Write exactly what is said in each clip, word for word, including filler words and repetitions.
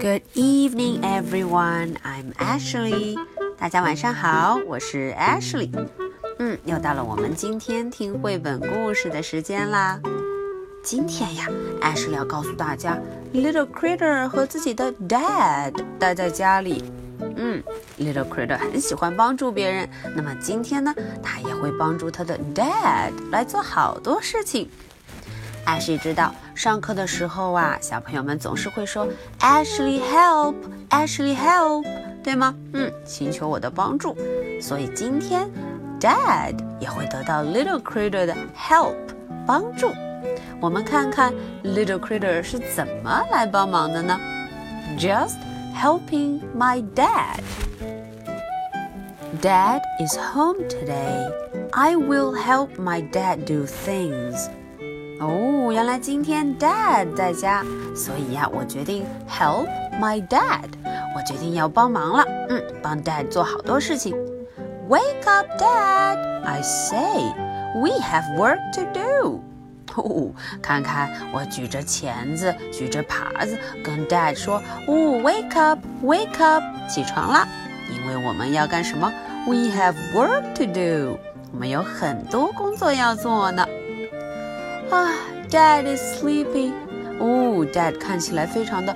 Good evening, everyone. I'm Ashley. 大家晚上好，我是 Ashley。嗯，又到了我们今天听绘本故事的时间啦。今天呀 ，Ashley 要告诉大家 ，Little Critter 和自己的 Dad 待在家里。嗯 ，Little Critter 很喜欢帮助别人，那么今天呢，他也会帮助他的 Dad 来做好多事情。Ashley 知道上课的时候啊，小朋友们总是会说 Ashley help Ashley help 对吗？嗯，请求我的帮助。所以今天 Dad 也会得到 Little Critter 的 help 帮助。我们看看 Little Critter 是怎么来帮忙的呢？ Just helping my dad. Dad is home today. I will help my dad do things.哦，原来今天 Dad 在家，所以呀，我决定 help my dad。我决定要帮忙了，嗯，帮 Dad 做好多事情。Wake up, Dad! I say, we have work to do. 哦，看看我举着钳子，举着耙子，跟 Dad 说，哦 ，Wake up, wake up， 起床啦，因为我们要干什么 ？We have work to do。我们有很多工作要做呢。啊 Dad is sleepy. 哦 Dad 看起来非常的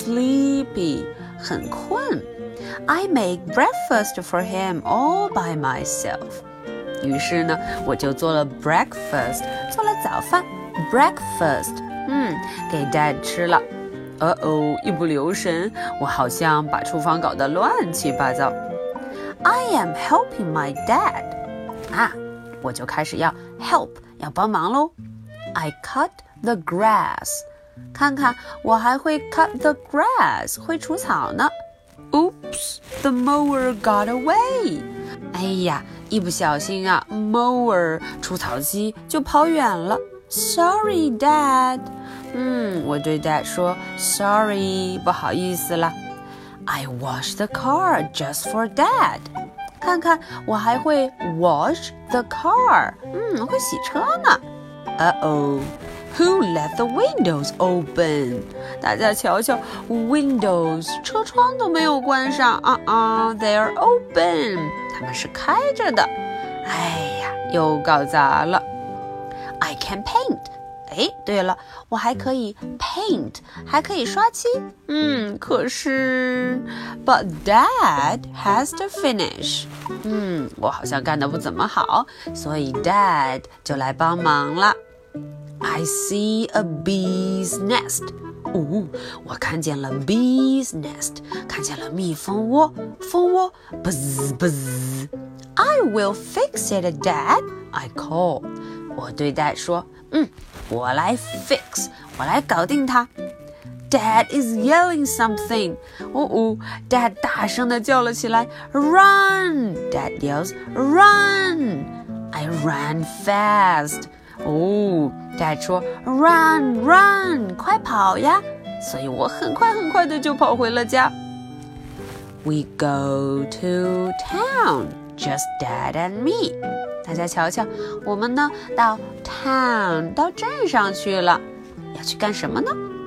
sleepy, 很困。I make breakfast for him all by myself. 于是呢，我就做了 breakfast, 做了早饭 breakfast, 嗯，给 Dad 吃了。呃哦，一不留神，我好像把厨房搞得乱七八糟。I am helping my dad. 啊，我就开始要 help, 要帮忙咯。I cut the grass. 看看，我还会 cut the grass, 会除草呢。Oops, the mower got away. 哎呀，一不小心啊 mower 除草机就跑远了。Sorry, Dad. 嗯，我对 Dad 说 Sorry, 不好意思啦。I wash the car just for Dad. 看看，我还会 wash the car. 嗯，会洗车呢。Uh-oh, who left the windows open? 大家瞧瞧 windows 车窗都没有关上啊啊、uh-uh, they're open 它们是开着的。哎呀，又搞砸了。I can paint. 哎，对了，我还可以 paint 还可以刷漆。嗯，可是 But Dad has to finish. 嗯，我好像干得不怎么好，所以 Dad 就来帮忙了。I see a bee's nest. 哦，我看见了 bee's nest, 看见了蜜蜂窝，蜂窝 buzz buzz. I will fix it, Dad, I call. 我对 Dad 说，嗯，我来 fix, 我来搞定它。Dad is yelling something. 哦哦 Dad 大声地叫了起来 Run! Dad yells, Run! I ran fast. 哦 Dad 说 Run, run! 快跑呀！所以我很快很快的就跑回了家。We go to town, just Dad and me. 大家瞧瞧，我们呢到 town 到镇上去了，要去干什么呢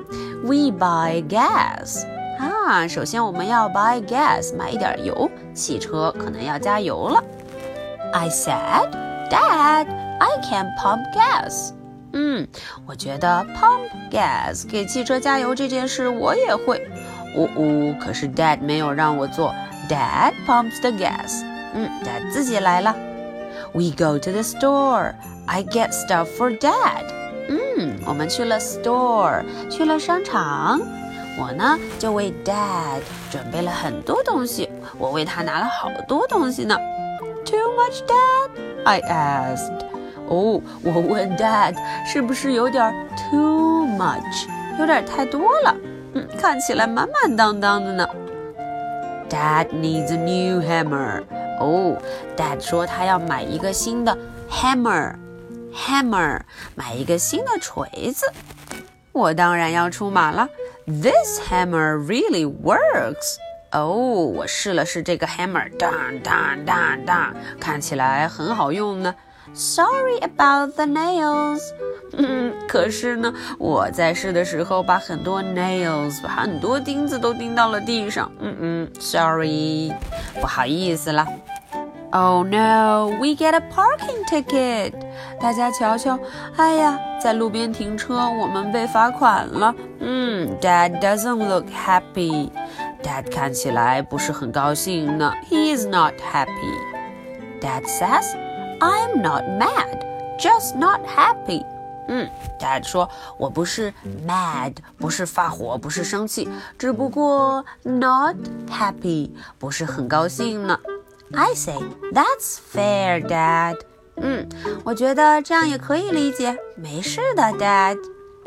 ？We buy gas. 啊，首先我们要 buy gas, 买一点油，汽车可能要加油了。I said, Dad, I can pump gas. 嗯，我觉得 pump gas 给汽车加油这件事我也会。哦哦，可是 Dad 没有让我做 Dad pumps the gas. 嗯 Dad 自己来了。We go to the store. I get stuff for Dad.嗯，我们去了 store， 去了商场。我呢，就为 Dad 准备了很多东西。我为他拿了好多东西呢。Too much, Dad? I asked. 哦，我问 Dad 是不是有点 too much， 有点太多了。嗯，看起来满满当当的呢。Dad needs a new hammer. 哦 Dad 说他要买一个新的 hammer。Hammer 买一个新的锤子，我当然要出马了。This hammer really works. 哦，我试了试这个 hammer， 当当当当，看起来很好用呢。 Sorry about the nails. 嗯，可是呢，我在试的时候把很多 nails， 把很多钉子都钉到了地上。嗯嗯 ，Sorry， 不好意思啦。Oh no, we get a parking ticket. 大家瞧瞧，哎呀，在路边停车，我们被罚款了。嗯 Dad doesn't look happy. Dad 看起来不是很高兴呢。He is not happy. Dad says, I'm not mad, just not happy. 嗯 Dad 说，我不是 mad, 不是发火，不是生气，只不过 not happy, 不是很高兴呢。I say, that's fair, Dad. 嗯，我觉得这样也可以理解，没事的 Dad.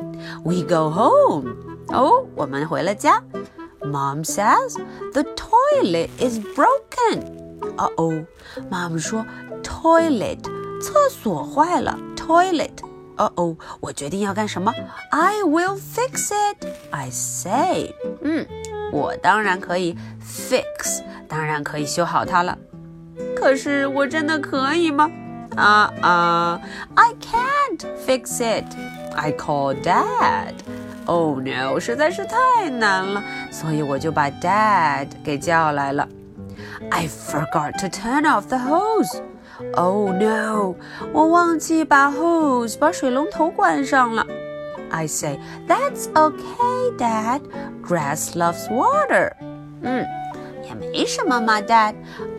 We go home. 哦，我们回了家。Mom says, the toilet is broken. Uh-oh, Mom 说 toilet, 厕所坏了 toilet. Uh-oh, 我决定要干什么 I will fix it, I say. 嗯，我当然可以 fix, 当然可以修好它了。可是我真的可以吗？啊啊 I can't fix it. I call Dad. Oh no, 实在是太难了，所以我就把 Dad 给叫来了。I forgot to turn off the hose. Oh no, 我忘记把 hose 把水龙头关上了。I say, that's okay, Dad. Grass loves water. 嗯。也没什么嘛 Dad.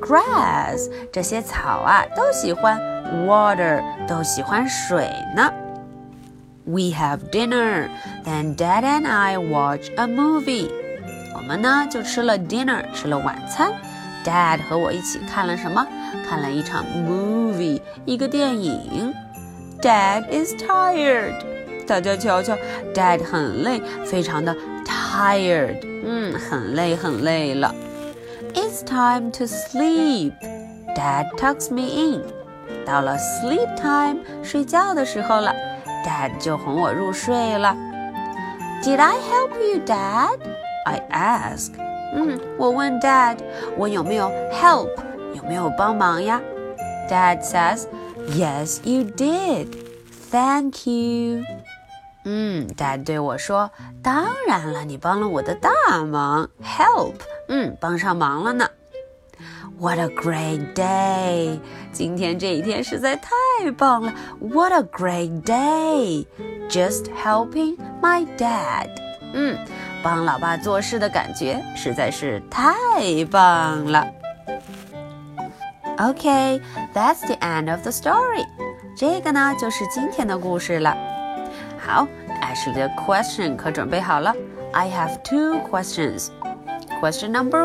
Grass 这些草啊都喜欢 water 都喜欢水呢。We have dinner. Then Dad and I watch a movie. 我们呢就吃了 dinner 吃了晚餐。Dad 和我一起看了什么？看了一场 movie 一个电影。Dad is tired. 大家瞧瞧 Dad 很累非常的 tired. 嗯，很累很累了。It's time to sleep. Dad tucks me in. 到了 sleep time, 睡觉的时候了 Dad 就哄我入睡了。Did I help you, Dad? I ask. 嗯，我问 Dad, 我有没有 help, 有没有帮忙呀 Dad says, Yes, you did. Thank you. 嗯 Dad 对我说，当然了，你帮了我的大忙 Help, 嗯，帮上忙了呢。What a great day. 今天这一天实在太棒了 What a great day. Just helping my dad. 嗯，帮老爸做事的感觉实在是太棒了。Okay, that's the end of the story. 这个呢就是今天的故事了。好 Ashley 的 question 可准备好了 I have two questions. Question number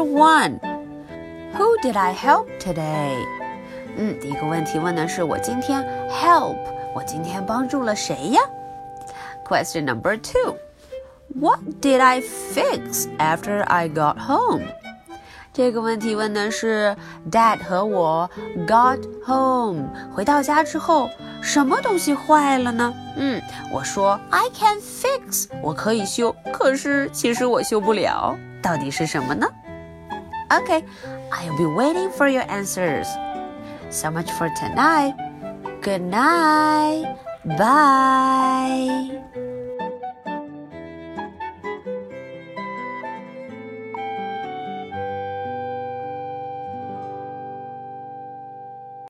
one.Who did I help today? 嗯，第一个问题问的是我今天 help 我今天帮助了谁呀 Question number two. What did I fix after I got home? 这个问题问的是 Dad 和我 got home 回到家之后什么东西坏了呢？嗯，我说 I can fix 我可以修，可是其实我修不了，到底是什么呢？Okay, I'll be waiting for your answers. So much for tonight. Good night. Bye.